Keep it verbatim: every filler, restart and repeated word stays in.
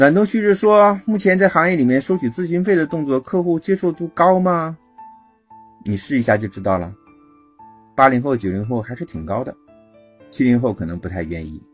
暖冬旭日说，目前在行业里面收取咨询费的动作，客户接受度高吗？你试一下就知道了。八零后、九零后还是挺高的，七零后可能不太愿意。